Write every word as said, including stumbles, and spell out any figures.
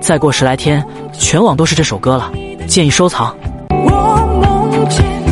再过十来天，全网都是这首歌了，建议收藏。 我梦见